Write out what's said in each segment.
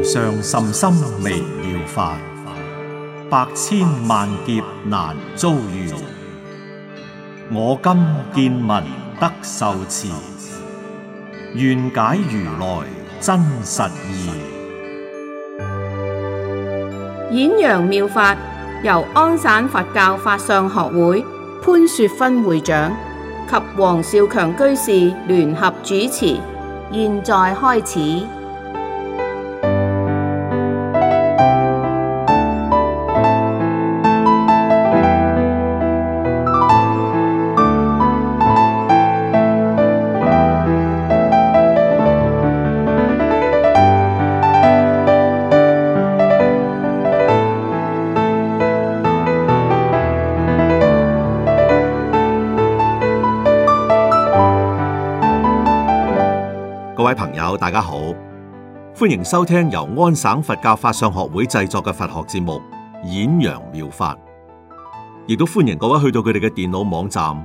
無上甚深微妙法，百千萬劫難遭遇。我今見聞得受持，願解如來真實義。 演揚妙法由安省佛教法相學會潘雪芬會長及黃少強居士聯合主持，現在開始。 各位朋友，大家好，歡迎收聽由安省佛教法相學會製作嘅佛學節目《演揚妙法》，亦都歡迎各位去到佢哋嘅電腦網站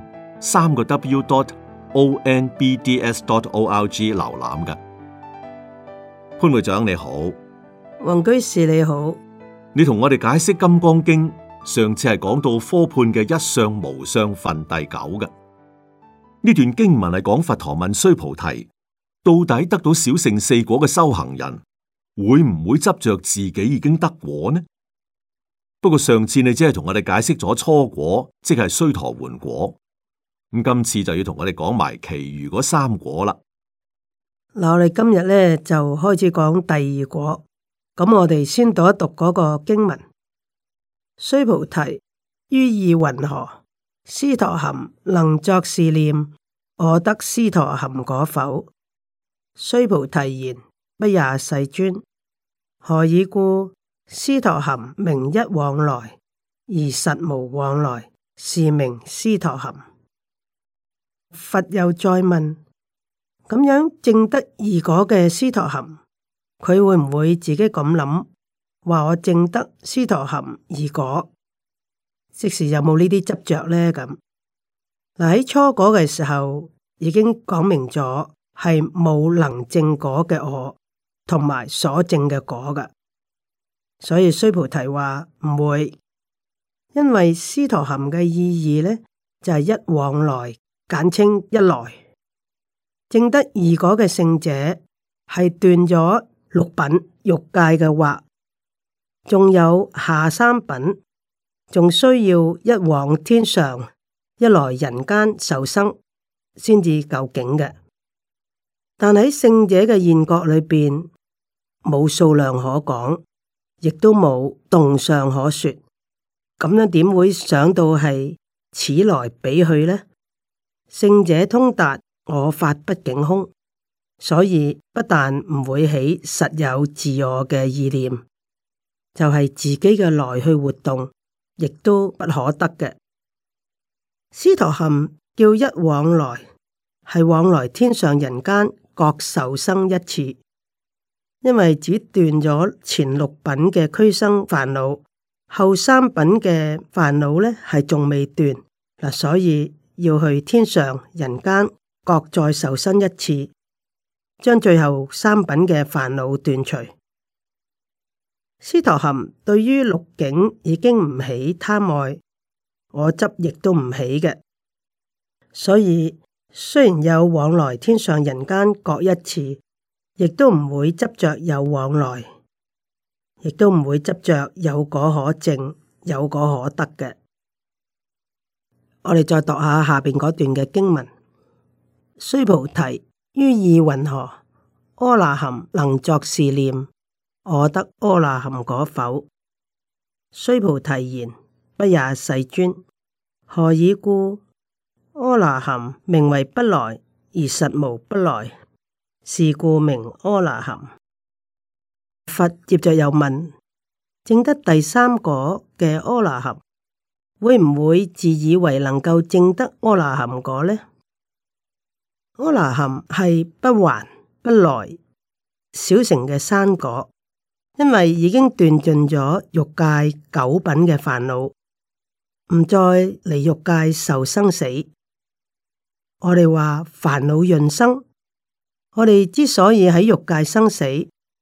3個W.ONBDS.org 瀏覽嘅。潘會長你好， 黃居士你好， 你同我哋解釋《金剛經》，上次係講到科判嘅一相無相分第九嘅。呢段經文係講佛陀問須菩提，到底得到小乘四果嘅修行人會唔會執着自己已經得果呢？不過上次你只係同我哋解釋咗初果，即係須陀洹果。咁今次就要同我哋講埋其餘嗰三果啦。 嗱，我哋今日咧就開始講第二果。咁我哋先讀一讀嗰個經文：須菩提，於意云何？斯陀含能作是念：我得斯陀含果否？須菩提言：不也，世尊。何以故？斯陀含名一往來，而實無往來，是名斯陀含。佛又再問：咁樣證得二果嘅斯陀含，佢會唔會自己咁諗，話我證得斯陀含二果？即是有冇呢啲執着呢？咁嗱，喺初果嘅時候已經講明咗。係冇能證果嘅我，同埋所證嘅果㗎，所以須菩提話唔會，因為斯陀含嘅意義呢，就係一往來，簡稱一來。證得二果嘅聖者係斷咗六品欲界嘅惑，仲有下三品，仲需要一往天上，一來人間受生，先至究竟嘅。但喺聖者嘅現國裏邊，冇數量可講，亦都冇動相可說。咁樣點會想到係此來彼去呢？聖者通達我法不境空，所以不但唔會起實有自我嘅意念，就係自己嘅來去活動，亦都不可得嘅。斯陀含叫一往來，係往來天上人間。各受生一次，因為只斷咗前六品嘅俱生煩惱，後三品嘅煩惱呢係仲未斷嗱，所以要去天上人間各再受生一次，將最後三品嘅煩惱斷除。斯陀含對於六境已經唔起貪愛，我執亦都唔起嘅，所以。雖然有往來天上人間各一次，亦都唔會執着有往來，亦都唔會執着有果可證、有果可得嘅。我哋再讀下下邊嗰段嘅經文：須菩提，於意云何？阿那含能作是念：我得阿那含果否？須菩提言：不也，世尊。何以故？阿那含名為不來，而實無不來，是故名阿那含。佛接着又問：證得第三果嘅阿那含，會唔會自以為能夠證得阿那含果呢？阿那含係不還不來小乘嘅三果，因為已經斷盡咗欲界九品嘅煩惱，唔再嚟欲界受生死。我哋話煩惱潤生，我哋之所以喺欲界生死，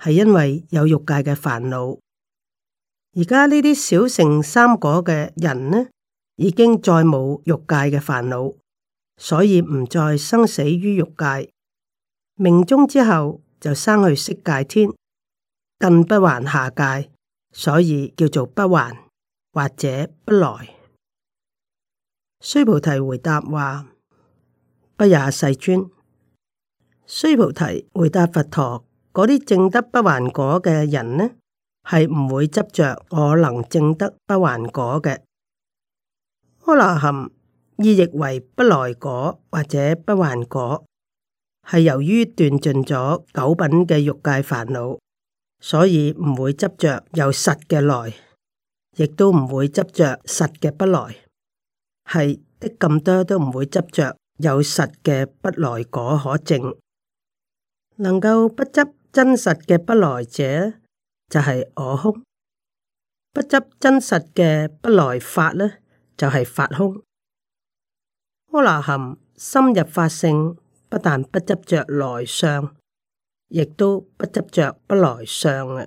係因為有欲界嘅煩惱。而家呢啲小乘三果嘅人呢，已經再冇欲界嘅煩惱，所以唔再生死於欲界。命終之後就生去色界天，更不還下界，所以叫做不還或者不來。須菩提回答話：不也，世尊。須菩提回答佛陀：嗰啲證得不還果嘅人呢，係唔會執着我能證得不還果嘅。阿羅漢意譯為不來果或者不還果，係由於斷盡咗九品嘅欲界煩惱，所以唔會執着有實嘅來，亦都唔會執着實嘅不來，係的咁多都唔會執着有實嘅不來果可證。能夠不執真實嘅不來者，就係我空；不執真實嘅不來法呢，就係法空。阿羅漢深入法性，不但不執着來相，亦都不執着不來相嘅。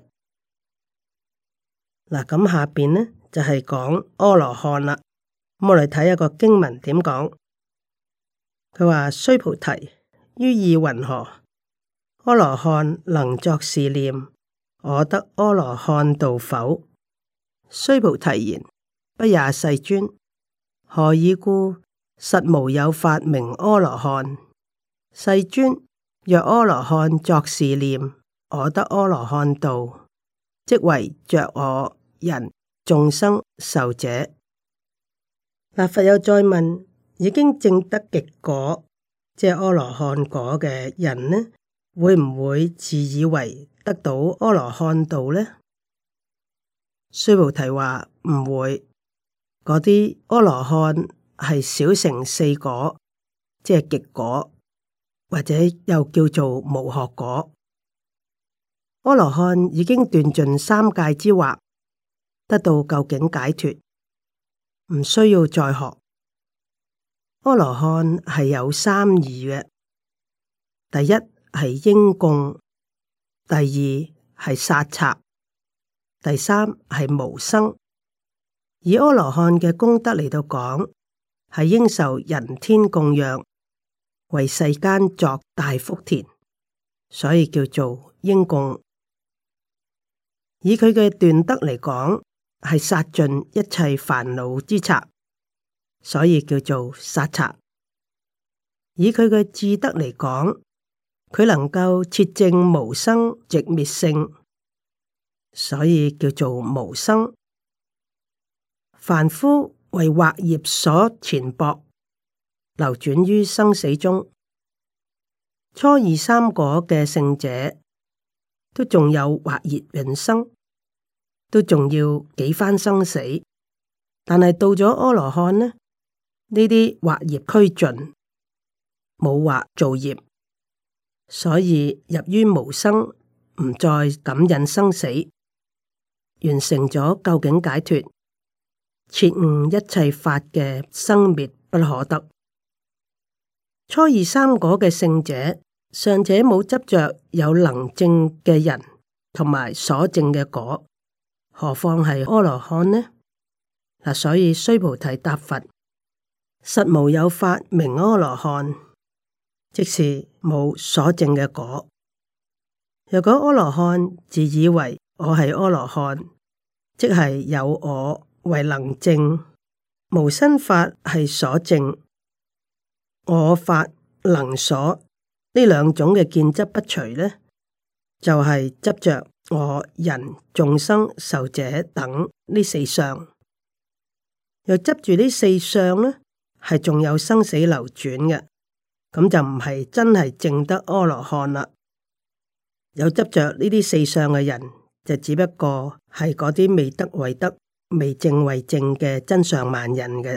嗱，咁下邊呢就係講阿羅漢啦。咁我哋睇一個經文點講。佢話：須菩提，於意云何？阿羅漢能作是念：我得阿羅漢道否？須菩提言：不也，世尊。何以故？實無有法名阿羅漢。世尊，若阿羅漢作是念：我得阿羅漢道，即為着我人眾生壽者。嗱，佛又再問：已經證得極果，即係阿羅漢果嘅人呢，會唔會自以為得到阿羅漢道呢？須菩提話唔會。嗰啲阿羅漢係小乘四果，即係極果，或者又叫做無學果。阿羅漢已經斷盡三界之惑，得到究竟解脫，唔需要再學。阿羅漢係有三義嘅，第一係應供，第二係殺賊，第三係無生。以阿羅漢嘅功德嚟到講，係應受人天供養，為世間作大福田，所以叫做應供。以佢嘅斷德嚟講，係殺盡一切煩惱之賊，所以叫做殺賊。以佢嘅智德嚟講，佢能夠徹證無生寂滅性，所以叫做無生。凡夫為惑業所纏縛，流轉於生死中。初二三果嘅聖者，都仲有惑業引生，都仲要幾番生死。但係到咗阿羅漢呢，呢啲惑業俱盡，冇惑造業，所以入於無生，唔再感引生死，完成咗究竟解脫。徹悟一切法嘅生滅不可得。初二三果嘅聖者，尚且冇執着有能證嘅人同埋所證嘅果，何況係阿羅漢呢？嗱，所以須菩提答佛：實無有法名阿羅漢，即是冇所證嘅果。若果阿羅漢自以為我係阿羅漢，即係有我為能證，無生法係所證，我法能所呢兩種嘅見執不除呢，就係、是、執着我人眾生壽者等呢四相，又執住呢四相呢，係仲有生死流轉嘅，咁就唔係真係證得阿羅漢啦。有執着呢啲四相嘅人，就只不過係嗰啲未得為得、未證為證嘅真相慢人嘅。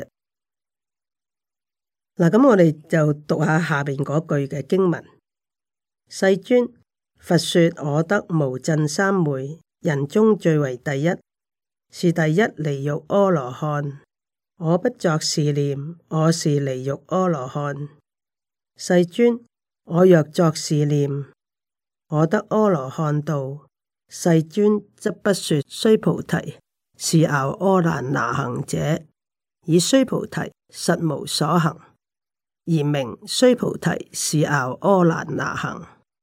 嗱，咁我哋就讀下下邊嗰句嘅經文：世尊，佛說我得無諍三昧，人中最為第一，是第一離欲阿羅漢。我不作是念，我是離欲阿羅漢。世尊，我若作是念，我得阿羅漢道， 世尊則不說須菩提是樂阿蘭那行者，以須菩提實無所行，而名須菩提是樂阿蘭那行。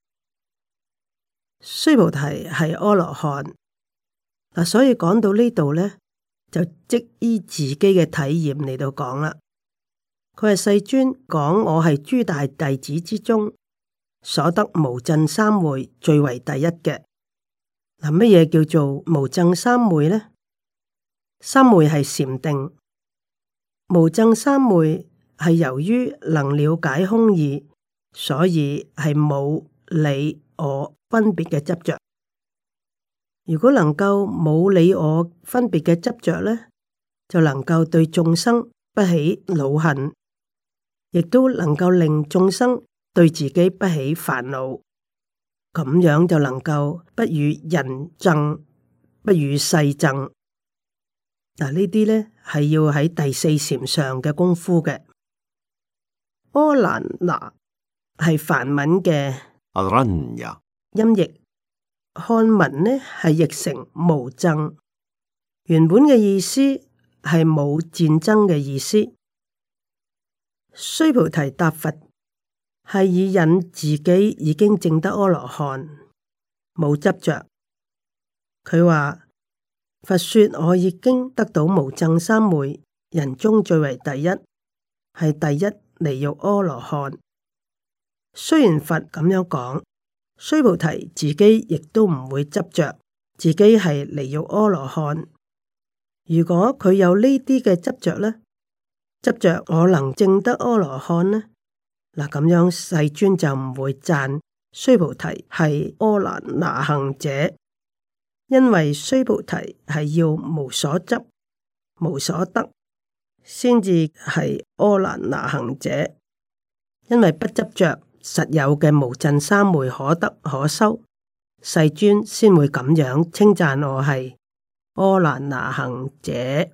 須菩提係阿羅漢嗱，所以講到呢度呢，就即依自己嘅體驗嚟到講啦。佢係世尊講我係諸大弟子之中所得無諍三昧最為第一嘅。嗱，乜嘢叫做無諍三昧呢？三昧係禪定，無諍三昧係由於能了解空義，所以係冇你我分別嘅執着。如果能夠冇你我分別嘅執着呢，就能夠對眾生不起惱恨，亦都能夠令眾生對自己不起煩惱，咁樣就能夠不與人爭，不與世爭。嗱，呢啲呢係要喺第四禪上嘅功夫嘅。阿蘭那係梵文嘅阿蘭呀音譯，漢文呢係譯成無諍，原本嘅意思係冇戰爭嘅意思。須菩提答佛係以引自己已經證得阿羅漢，冇執着。佢話佛說我已經得到無諍三昧，人中最為第一，係第一離欲阿羅漢。雖然佛咁樣講，須菩提自己亦都唔會執着自己係離欲阿羅漢。如果佢有呢啲嘅執着呢，執着我能證得阿羅漢呢，嗱，咁樣世尊就唔會讚須菩提係阿蘭那行者。因為須菩提係要無所執、無所得，先至係阿蘭那行者。因為不執着實有嘅無諍三昧可得可修，世尊先會咁樣稱讚我係阿蘭那行者。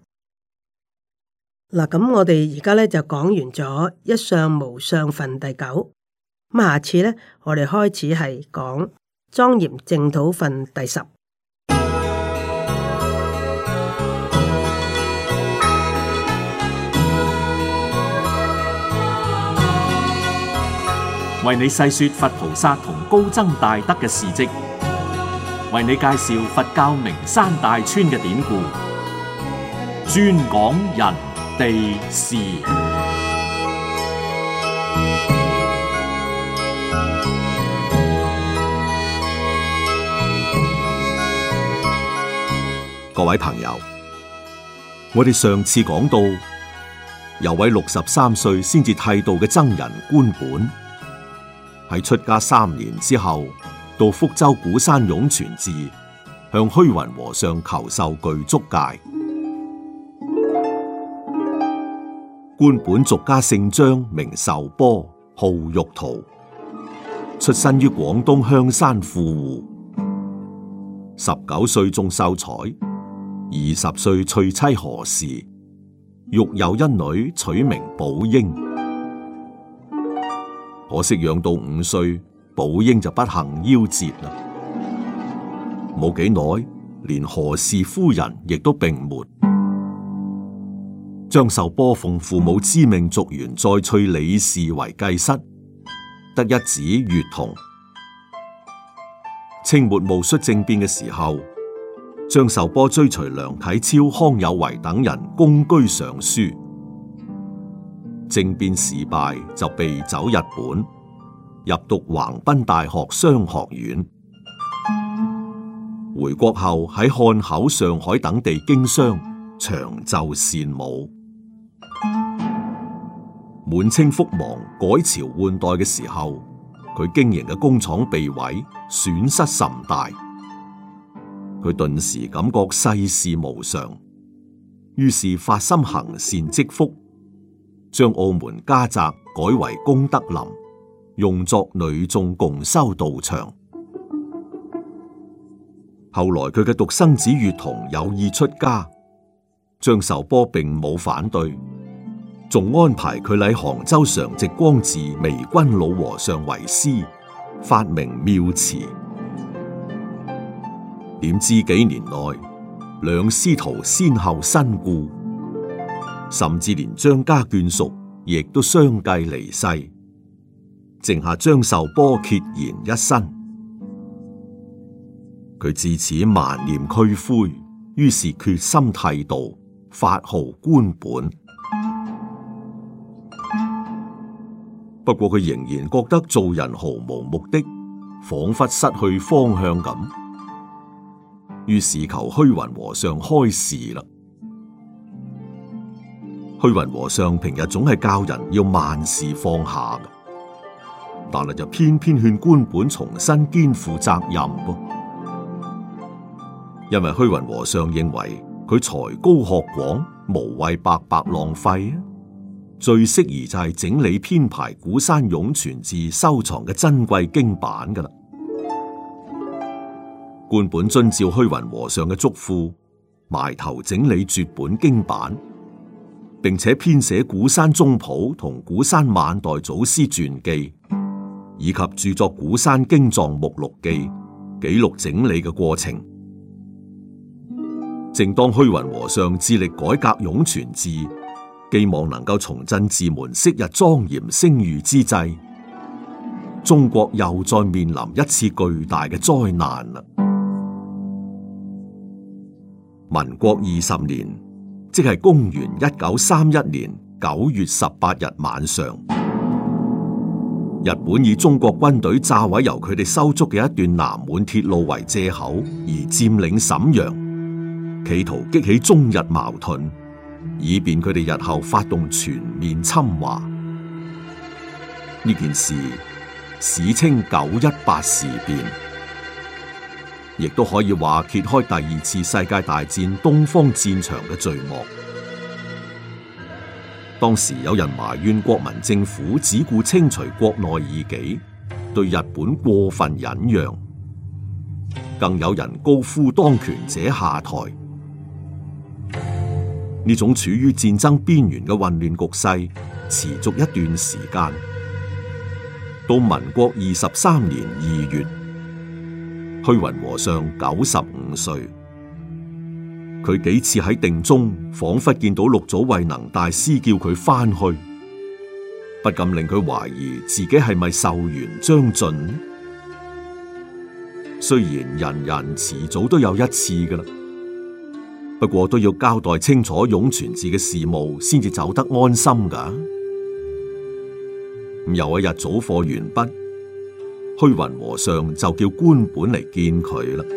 嗱，咁我哋而家咧就講完咗一相無相分第九，咁下次咧我哋開始係講莊嚴淨土分第十。 為你細說佛菩薩同高僧大德嘅事跡，為你介紹佛教名山大川嘅典故，專講人地事。 各位朋友，我哋上次講到，有位63歲先至剃度嘅僧人觀本，喺出家3年之後，到福州鼓山湧泉寺向虛雲和尚求受具足戒。觀本俗家姓張，名壽波，號玉桃，出身於廣東香山富戶。19歲中秀才，20歲娶妻何氏，育有一女，取名寶英。可惜養到5歲，寶英就不幸夭折啦。冇幾耐，連何氏夫人亦都病沒。張壽波奉父母之命續弦再娶李氏為繼室，得一子月童。清末戊戌政變嘅時候，張壽波追隨梁啟超、康有為等人公居上書。政變事敗，就避走日本，入讀橫濱大學商學院。回國後喺漢口、上海等地經商，長袖善舞。滿清覆亡、改朝換代嘅時候，佢經營嘅工廠被毀，損失甚大。佢頓時感覺世事無常，於是發心行善積福，將澳門家宅改為功德林，用作女眾共修道場。後來佢嘅獨生子月童有意出家，張壽波並冇反對，仲安排佢禮杭州常寂光寺微君老和尚為師，發明妙慈。 點知幾年內兩師徒先後身故，甚至連張家眷屬亦都相繼離世，剩下張壽波孑然一身。佢自此萬念俱灰，於是決心剃度，發號官本。不過佢仍然覺得做人毫無目的，仿佛失去方向咁，於是求虛雲和尚開示啦。虛雲和尚平日總係教人要萬事放下嘅，但係就偏偏勸官本重新肩負責任噃。因為虛雲和尚認為佢才高學廣，無謂白白浪費啊，最適宜就係整理編排古山湧泉寺收藏嘅珍貴經版噶啦。官本遵照虛雲和尚嘅囑咐，埋頭整理絕本經版，並且編寫古山宗譜同古山晚代祖師傳記，以及著作古山經藏目錄記，記錄整理嘅過程。正當虛雲和尚致力改革湧泉寺，寄望能夠重振寺門昔日莊嚴聲譽之際，中國又再面臨一次巨大嘅災難啦。民國20年，即係公元1931年9月18日晚上，日本以中國軍隊炸毀由佢哋修築嘅一段南滿鐵路為借口，而佔領瀋陽。企圖激起中日矛盾，以便佢哋日後發動全面侵華。呢件事史稱918事變，亦都可以話揭開第二次世界大戰東方戰場嘅序幕。當時有人埋怨國民政府只顧清除國內異己，對日本過分忍讓，更有人高呼當權者下台。呢種處於戰爭邊緣嘅混亂局勢持續一段時間，到民國23年2月，虛雲和尚95歲，佢幾次喺定中仿佛見到六祖慧能大師叫佢翻去，不禁令佢懷疑自己係咪壽元將盡。雖然人人遲早都有一次㗎喇，不過都要交代清楚湧泉寺嘅事務，先至走得安心噶。有一日早課完畢，虛雲和尚就叫官本嚟見佢啦。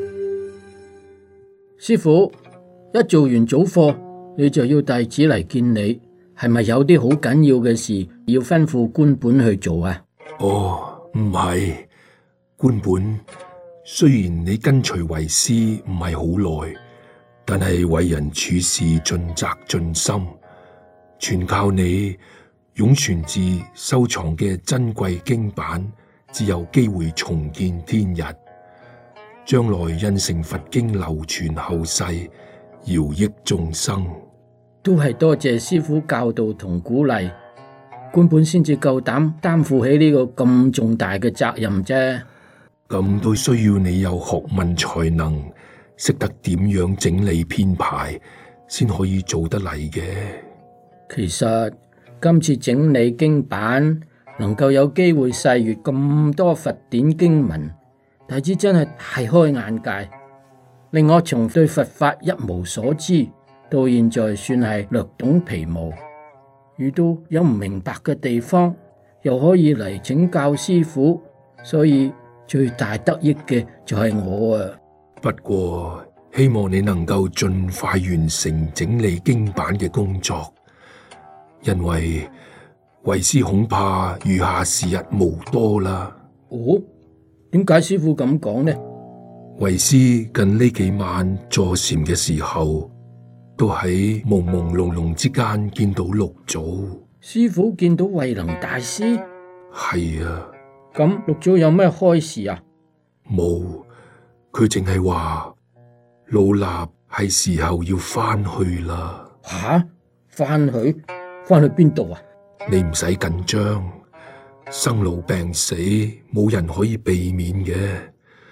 師父，一做完早課，你就要弟子嚟見你，係咪有啲好緊要嘅事要吩咐官本去做啊？ 哦，唔係，官本，雖然你跟隨為師唔係好耐，但係為人處事盡責盡心，全靠你湧泉寺收藏嘅珍貴經版，只有機會重見天日，將來印成佛經流傳後世，饒益眾生。 都係多謝師父教導同鼓勵，官本先至夠膽擔負起呢個咁重大嘅責任啫。 咁都需要你有學問才能，識得點樣整理編排，先可以做得嚟嘅。 其實今次整理經版，能夠有機會細閱咁多佛典經文，弟子真係大開眼界，令我從對佛法一無所知，到現在算係略懂皮毛。遇到有唔明白嘅地方，又可以嚟請教師父，所以最大得益嘅就係我啊！ 不過希望你能夠盡快完成整理經版嘅工作，因為為師恐怕餘下時日無多啦。 哦，點解師父咁講呢？ 為師近呢幾晚坐禪嘅時候，都喺朦朦朧朧之間見到六祖。 師父見到慧能大師？ 係啊。 咁六祖有咩開示啊？ 冇，佢淨係話老衲係時候要翻去啦。 吓？翻去邊度啊？ 你唔使緊張，生老病死冇人可以避免嘅。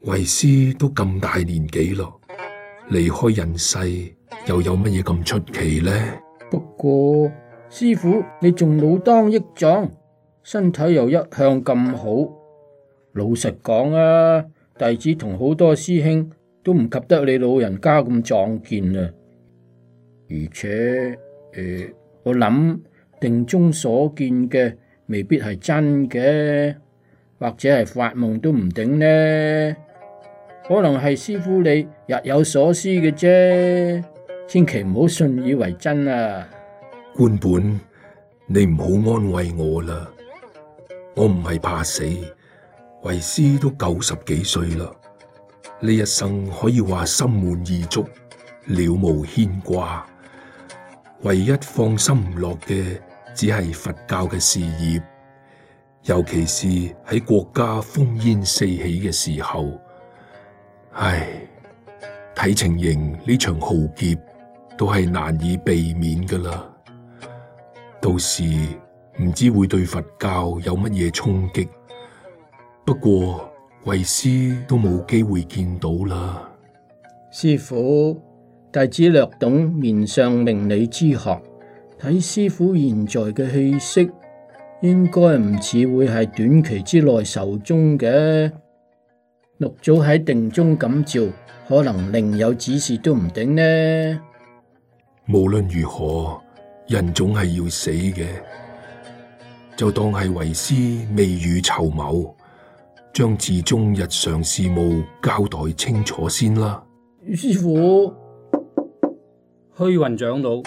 為師都咁大年紀咯，離開人世又有乜嘢咁出奇呢？ 不過師父你仲老當益壯，身體又一向咁好。老實講啊，弟子同好多師兄都唔及得你老人家咁壯健啊。而且我諗定中所見嘅未必係真嘅，或者係發夢都唔定呢。可能係師父你日有所思嘅啫，千祈唔好信以為真啊！ 官本，你唔好安慰我啦，我唔係怕死，為師都90幾歲啦，呢一生可以話心滿意足，了無牽掛，唯一放心唔落嘅只係佛教嘅事業，尤其是喺國家烽煙四起嘅時候。唉，睇情形呢場浩劫都係難以避免噶啦，到時唔知會對佛教有乜嘢衝擊。不過為師都冇機會見到啦。 師父，弟子略懂面相命理之學，睇師父現在嘅氣息，應該唔似會係短期之內壽終嘅。六祖喺定中感召，可能另有指示都唔定呢。 無論如何，人總係要死嘅，就當係為師未雨綢繆，將寺中日常事務交代清楚先啦。 師父， 虛雲長老，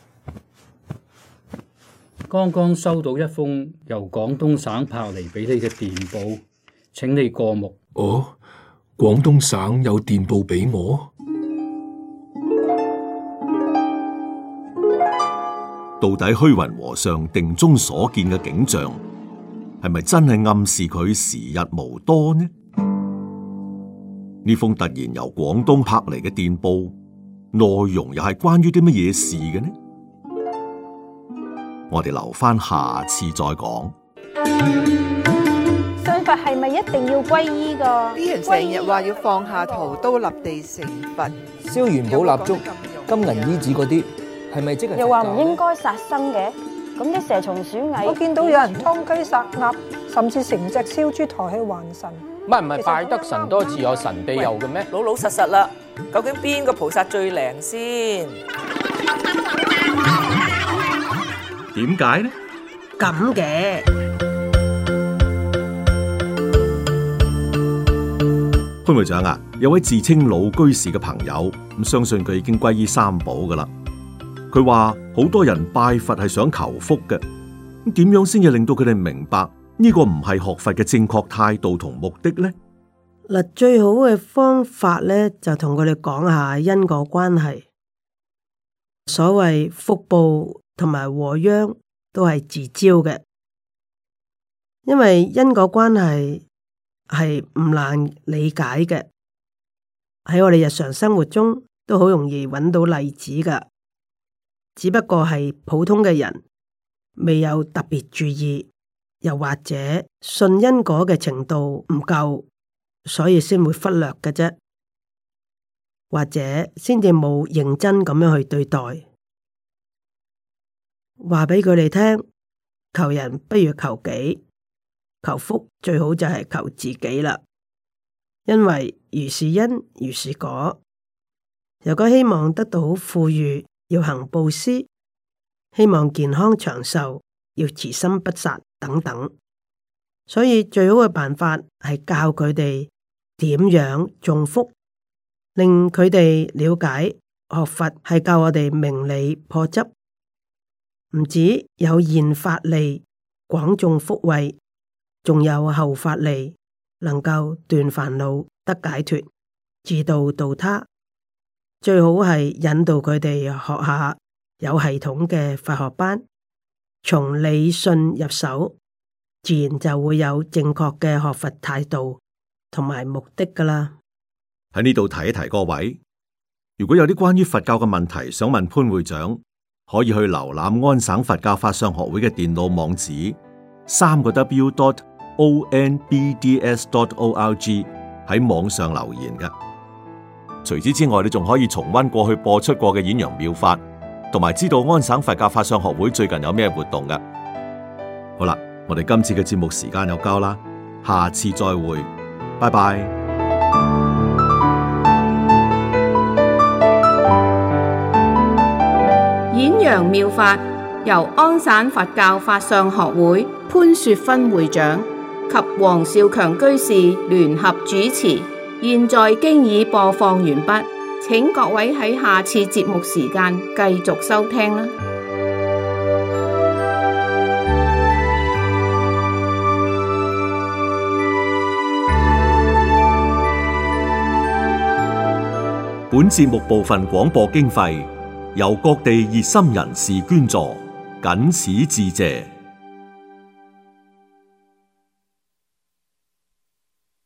剛剛收到一封由廣東省拍嚟俾你嘅電報，請你過目。 哦，廣東省有電報俾我？ 到底虛雲和尚定中所見嘅景象，係咪真係暗示佢時日無多呢？呢封突然由廣東拍嚟嘅電報，內容又係關於啲乜嘢事嘅呢？我哋留翻下次再講。 信佛係咪一定要皈依㗎？ 啲人成日話要放下屠刀立地成佛， 燒元寶蠟燭、金銀衣紙嗰啲，係咪即係？ 又話唔應該殺生嘅，咁啲蛇蟲鼠蟻， 我見到有人劏雞殺鴨，甚至成隻燒豬抬去還神。 唔係拜得神多自有神庇佑嘅咩？ 老老實實啦，究竟邊個菩薩最靈先？ 點解呢？ 咁嘅潘會長啊，有位自稱老居士嘅朋友，咁相信佢已經皈依三寶噶啦。佢話好多人拜佛係想求福嘅，咁點樣先至令到佢哋明白呢個唔係學佛嘅正確態度同目的呢？ 嗱，最好嘅方法咧，就同佢哋講下因果關係。所謂福報同埋禍殃都係自招嘅，因為因果關係係唔難理解嘅，喺我哋日常生活中都好容易揾到例子噶，只不過係普通嘅人未有特別注意，又或者信因果嘅程度唔夠，所以先會忽略嘅啫，或者先至冇認真咁樣去對待。話俾佢哋聽，求人不如求己，求福最好就係求自己啦。因為如是因如是果，如果希望得到富裕，要行布施；希望健康長壽，要慈心不殺等等。所以最好嘅辦法係教佢哋點樣種福，令佢哋了解學佛係教我哋明理破執。唔止有現法利廣種福慧，仲有後法利能夠斷煩惱得解脫，自度度他。最好係引導佢哋學下有系統嘅佛學班，從理信入手，自然就會有正確嘅學佛態度同埋目的㗎喇。 喺呢度提一提各位，如果有啲關於佛教嘅問題想問潘會長，可以去瀏覽安省佛教法相學會嘅電腦網址，3個W.onbds.org， 喺網上留言嘅。除此之外，你仲可以重溫過去播出過嘅演揚妙法，同埋知道安省佛教法相學會最近有咩活動嘅。好啦，我哋今次嘅節目時間有交啦，下次再會，拜拜。 演揚妙法由安省佛教法相學會潘雪芬會長及黃少強居士聯合主持，現在經已播放完畢，請各位喺下次節目時間繼續收聽啦。 本節目部分廣播經費由各地熱心人士捐助，謹此致謝。